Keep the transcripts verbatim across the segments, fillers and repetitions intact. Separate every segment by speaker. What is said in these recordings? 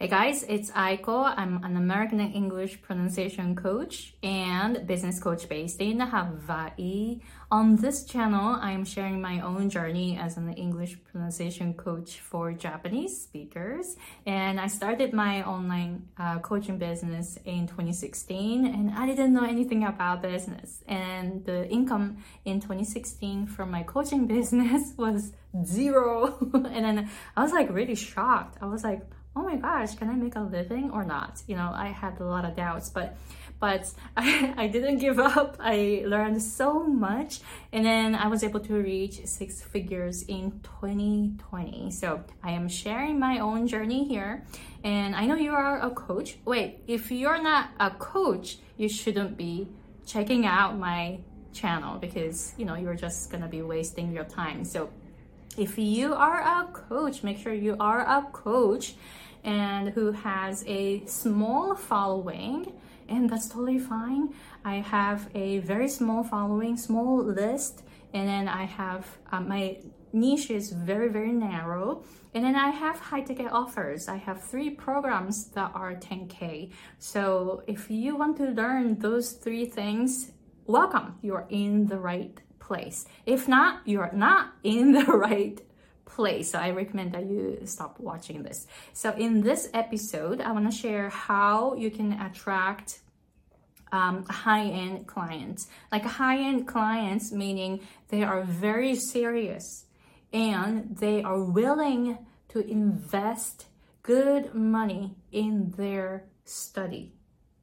Speaker 1: Hey guys, it's Aiko. I'm an American English pronunciation coach and business coach based in Hawaii. On this channel, I'm sharing my own journey as an English pronunciation coach for Japanese speakers. And I started my online uh, coaching business in twenty sixteen, and I didn't know anything about business. And the income in twenty sixteen from my coaching business was zero. And then I was like really shocked. I was like, oh my gosh, can I make a living or not? You know, I had a lot of doubts, but but I, I didn't give up. I learned so much, and then I was able to reach six figures in twenty twenty. So I am sharing my own journey here, and I know you are a coach. Wait, if you're not a coach, you shouldn't be checking out my channel because, you know, you're just gonna be wasting your time. So if you are a coach, make sure you are a coach and who has a small following, and that's totally fine. I have a very small following, small list, and then I have uh, my niche is very, very narrow. And then I have high ticket offers. I have three programs that are ten K. So if you want to learn those three things, welcome, you're in the right place. If not, you're not in the right place. So I recommend that you stop watching this. So in this episode, I want to share how you can attract um, high-end clients. Like high-end clients, meaning they are very serious and they are willing to invest good money in their study.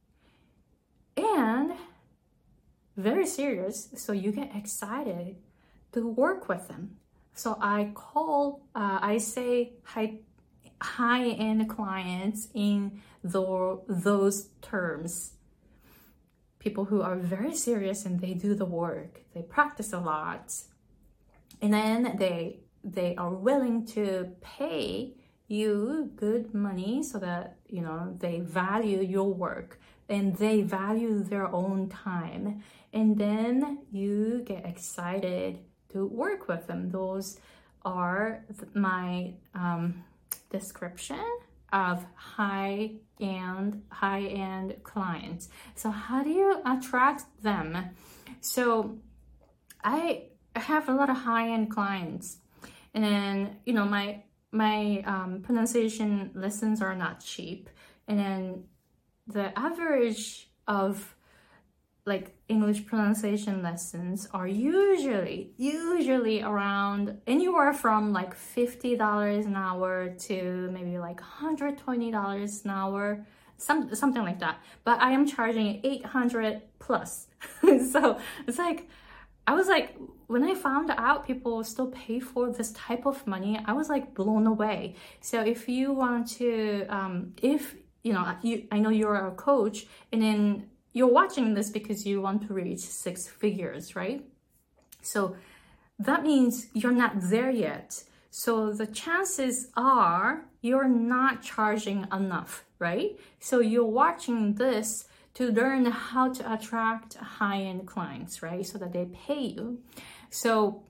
Speaker 1: And very serious, so you get excited to work with them. So I call, uh, I say high, high-end clients in the, those terms. People who are very serious and they do the work, they practice a lot, and then they they are willing to pay you good money so that, you know, they value your work and they value their own time. And then you get excited to work with them. Those are my um, description of high-end high-end clients. So how do you attract them? So I have a lot of high-end clients, and then, you know, my my um, pronunciation lessons are not cheap, and then the average of like English pronunciation lessons are usually usually around anywhere from like fifty dollars an hour to maybe like one hundred twenty dollars an hour, some something like that. But I am charging eight hundred plus. So it's like, I was like, when I found out people still pay for this type of money, I was like blown away. So if you want to, um, if you know, you, I know you're a coach, and then you're watching this because you want to reach six figures, right? So that means you're not there yet. So the chances are you're not charging enough, right? So you're watching this to learn how to attract high-end clients, right? So that they pay you. So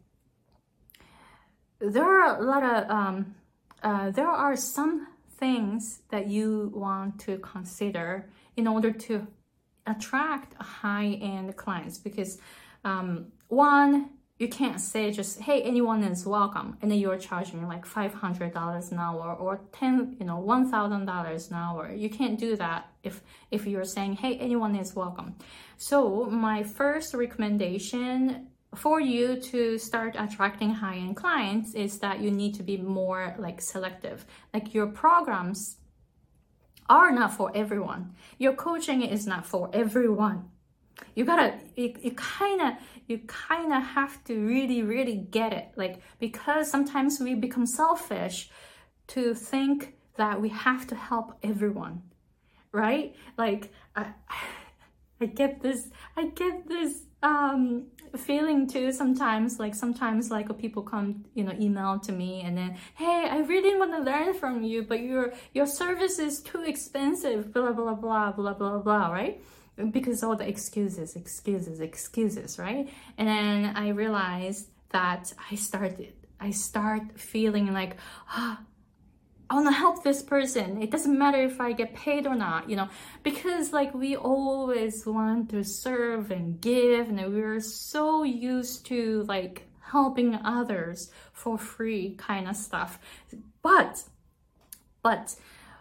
Speaker 1: there are a lot of, um, uh, there are some things that you want to consider in order to attract high-end clients, because um, one, you can't say just, hey, anyone is welcome, and then you're charging like five hundred dollars an hour or ten, you know, one thousand dollars an hour. You can't do that if if you're saying, hey, anyone is welcome. So my first recommendation for you to start attracting high-end clients is that you need to be more like selective. Like your programs are not for everyone. Your coaching is not for everyone. You gotta, you, you kinda, you kinda have to really, really get it. Like, because sometimes we become selfish to think that we have to help everyone, right? Like, I, I get this, I get this um, feeling too sometimes. Like sometimes, like people come, you know, email to me and then, hey, I really want to learn from you, but your your service is too expensive. Blah blah blah blah blah blah. Right? Because all the excuses, excuses, excuses. Right? And then I realized that I started, I start feeling like, ah. Oh, I want to help this person. It doesn't matter if I get paid or not, you know, because like we always want to serve and give, and we're so used to like helping others for free kind of stuff. But, but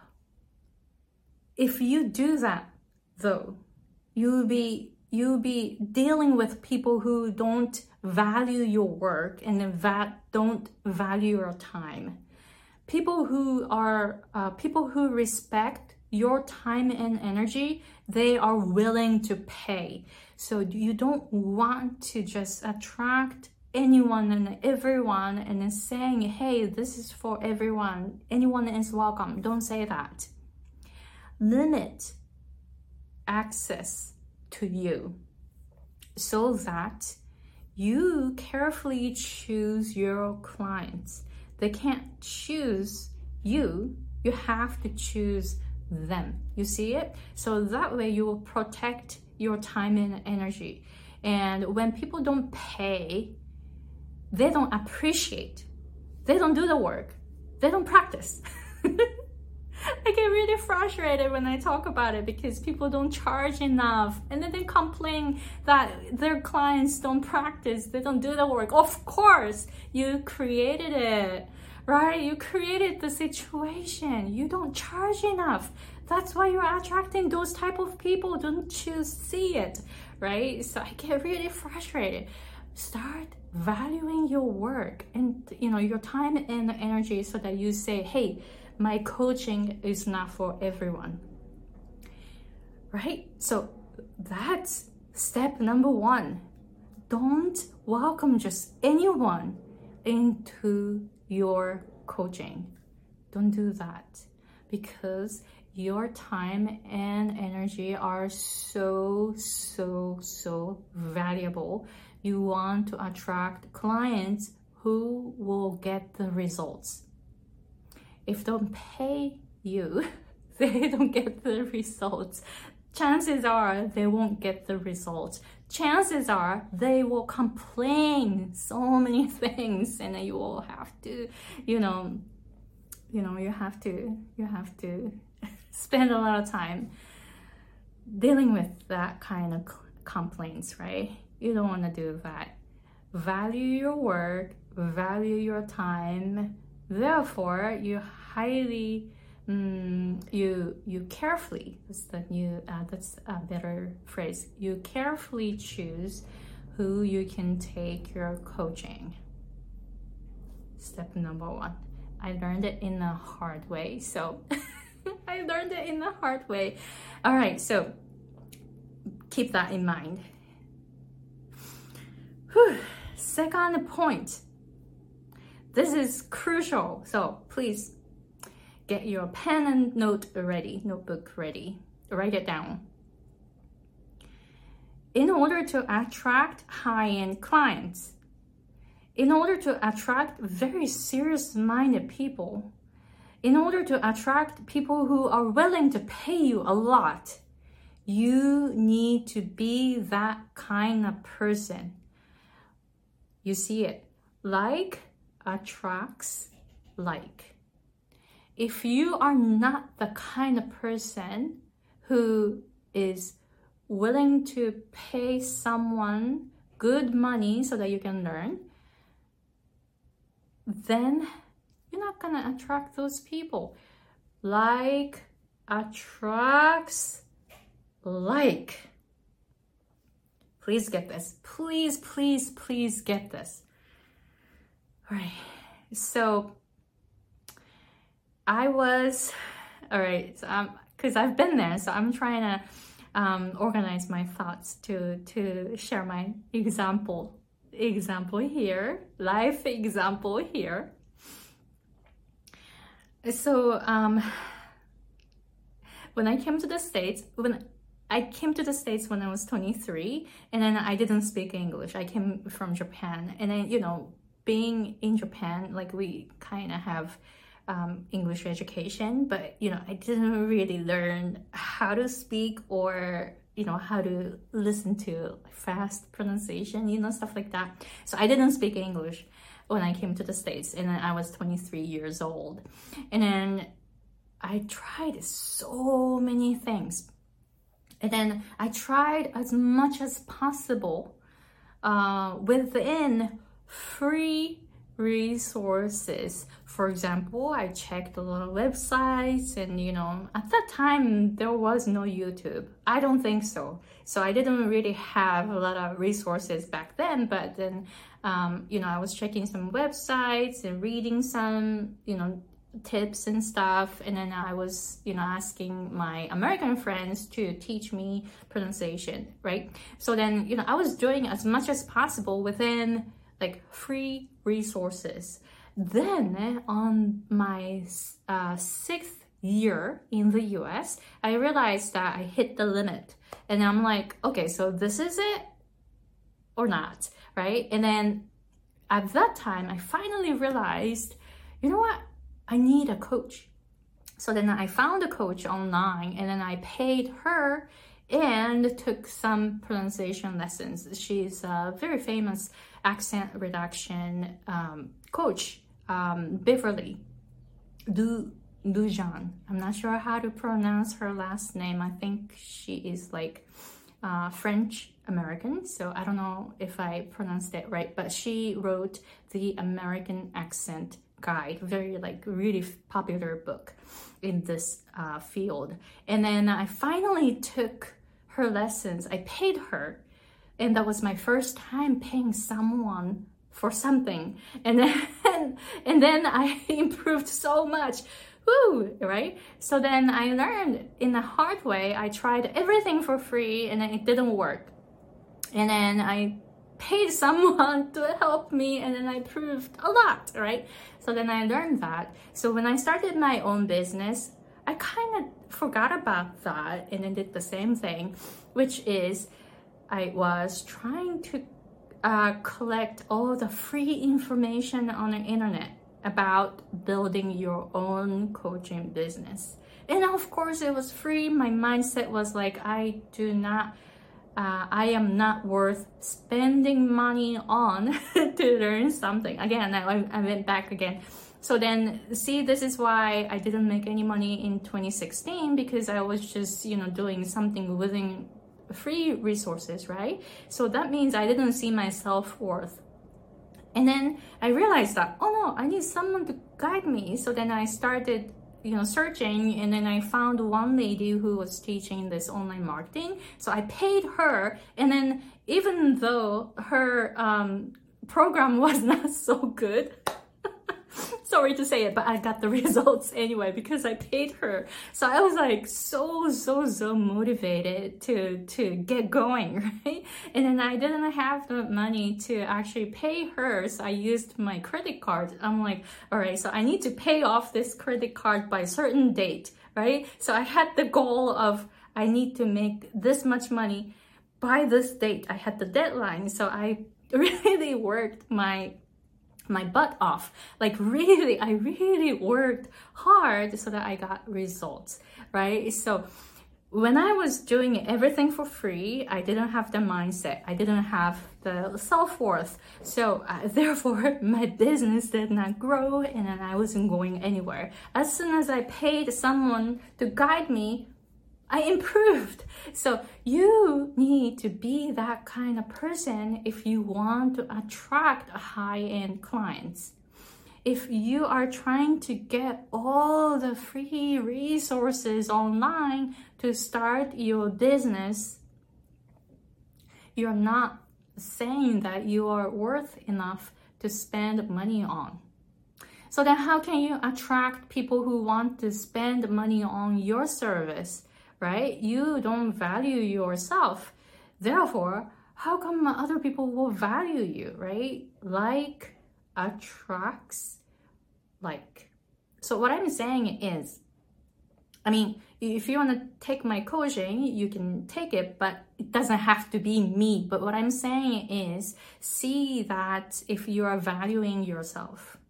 Speaker 1: if you do that though, you'll be, you'll be dealing with people who don't value your work and that don't value your time. People who are, uh, people who respect your time and energy, they are willing to pay. So you don't want to just attract anyone and everyone and then saying, hey, this is for everyone. Anyone is welcome. Don't say that. Limit access to you so that you carefully choose your clients. They can't choose you, you have to choose them. You see it? So that way you will protect your time and energy. And when people don't pay, they don't appreciate. They don't do the work. They don't practice. I get really frustrated when I talk about it because people don't charge enough, and then they complain that their clients don't practice, they don't do the work. Of course, you created it, right? You created the situation. You don't charge enough. That's why you're attracting those type of people. Don't you see it, right? So I get really frustrated. Start valuing your work and you know your time and energy so that you say, hey, my coaching is not for everyone, right? So that's step number one. Don't welcome just anyone into your coaching. Don't do that because your time and energy are so, so, so valuable. You want to attract clients who will get the results. If they don't pay you, they don't get the results. Chances are they won't get the results. Chances are they will complain so many things, and then you will have to, you know, you know, you have to, you have to spend a lot of time dealing with that kind of complaints, right? You don't want to do that. Value your work, value your time. Therefore, you highly, um, you you carefully. That's the new. Uh, that's a better phrase. You carefully choose who you can take your coaching. Step number one. I learned it in a hard way. So I learned it in a hard way. All right. So keep that in mind. Whew. Second point. This is crucial, so please get your pen and note ready, notebook ready. Write it down. In order to attract high-end clients, in order to attract very serious-minded people, in order to attract people who are willing to pay you a lot, you need to be that kind of person. You see it, like attracts like. If you are not the kind of person who is willing to pay someone good money so that you can learn, then you're not gonna attract those people. Like attracts like. Please get this. Please, please, please get this. All right, so I was, all right, so um, because I've been there, so I'm trying to um, organize my thoughts to to share my example, example here, life example here. So um, when I came to the States, when I came to the States when I was twenty-three, and then I didn't speak English. I came from Japan, and then, you know, being in Japan, like we kind of have um, English education, but, you know, I didn't really learn how to speak or, you know, how to listen to fast pronunciation, you know, stuff like that. So I didn't speak English. when I came to the States, and then I was twenty-three years old. And then I tried so many things. And then I tried as much as possible uh, within free resources. For example, I checked a lot of websites, and you know, at that time there was no YouTube. I don't think so. So I didn't really have a lot of resources back then, but then um, you know, I was checking some websites and reading some, you know, tips and stuff, and then I was, you know, asking my American friends to teach me pronunciation, right? So then, you know, I was doing as much as possible within like free resources. Then on my uh, sixth year in the U S, I realized that I hit the limit, and I'm like, okay, so this is it or not, right? And then at that time, I finally realized, you know what? I need a coach. So then I found a coach online, and then I paid her and took some pronunciation lessons. She's a very famous accent reduction um, coach, um, Beverly Du Dujan. I'm not sure how to pronounce her last name. I think she is like uh, French American, so I don't know if I pronounced it right, but she wrote the American Accent Guide, very like really popular book in this uh, field. And then I finally took her lessons. I paid her, and that was my first time paying someone for something. And then and then I improved so much. Woo, right? So then I learned in the hard way. I tried everything for free, and then it didn't work. And then I paid someone to help me, and then I improved a lot, right? So then I learned that. So when I started my own business, I kind of forgot about that and then did the same thing, which is I was trying to uh, collect all the free information on the internet about building your own coaching business. And of course it was free. My mindset was like, I do not Uh, I am not worth spending money on to learn something. Again, I, I went back again. So then, see, this is why I didn't make any money in twenty sixteen, because I was just, you know, doing something within free resources, right? So that means I didn't see my self-worth. And then I realized that, oh no, I need someone to guide me. So then I started, you know, searching, and then I found one lady who was teaching this online marketing. So I paid her, and then even though her um, program was not so good, sorry to say it, but I got the results anyway because I paid her. So I was like so, so, so motivated to, to get going, right? And then I didn't have the money to actually pay her. So I used my credit card. I'm like, all right, so I need to pay off this credit card by a certain date, right? So I had the goal of I need to make this much money by this date. I had the deadline. So I really worked my my butt off. Like really, I really worked hard so that I got results, right? So when I was doing everything for free, I didn't have the mindset. I didn't have the self-worth. So uh, therefore, my business did not grow, and then I wasn't going anywhere. As soon as I paid someone to guide me, I improved. So you need to be that kind of person if you want to attract high-end clients. If you are trying to get all the free resources online to start your business, you're not saying that you are worth enough to spend money on. So then how can you attract people who want to spend money on your service? Right? You don't value yourself. Therefore, how come other people will value you, right? Like attracts like. So what I'm saying is, I mean, if you want to take my coaching, you can take it, but it doesn't have to be me. But what I'm saying is, see that if you are valuing yourself,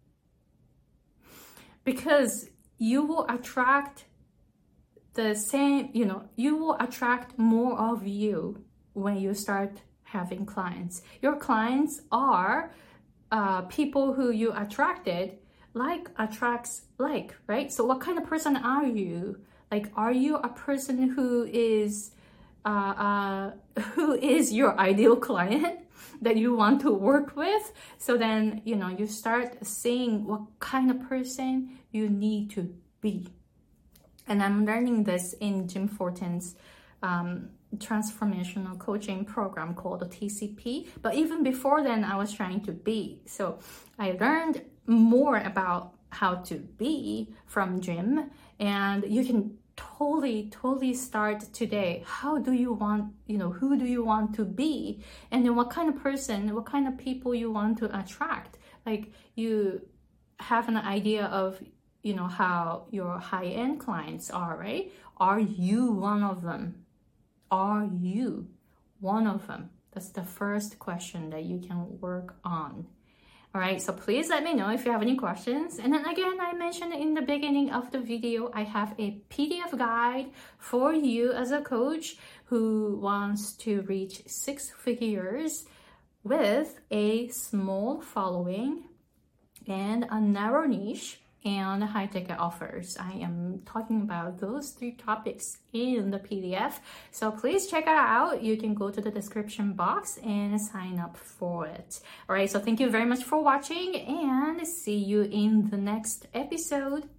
Speaker 1: because you will attract the same, you know, you will attract more of you when you start having clients. Your clients are uh, people who you attracted, like attracts like, right? So what kind of person are you? Like, are you a person who is uh, uh, who is your ideal client that you want to work with? So then, you know, you start seeing what kind of person you need to be. And I'm learning this in Jim Fortin's um, transformational coaching program called T C P. But even before then, I was trying to be. So I learned more about how to be from Jim, and you can totally, totally start today. How do you want, you know, who do you want to be? And then what kind of person, what kind of people you want to attract? Like, you have an idea of, you know, how your high-end clients are, right? Are you one of them? Are you one of them? That's the first question that you can work on. All right, so please let me know if you have any questions. And then again, I mentioned in the beginning of the video, I have a P D F guide for you as a coach who wants to reach six figures with a small following and a narrow niche and high ticket offers. I am talking about those three topics in the P D F. So please check it out. You can go to the description box and sign up for it. All right, so thank you very much for watching and see you in the next episode.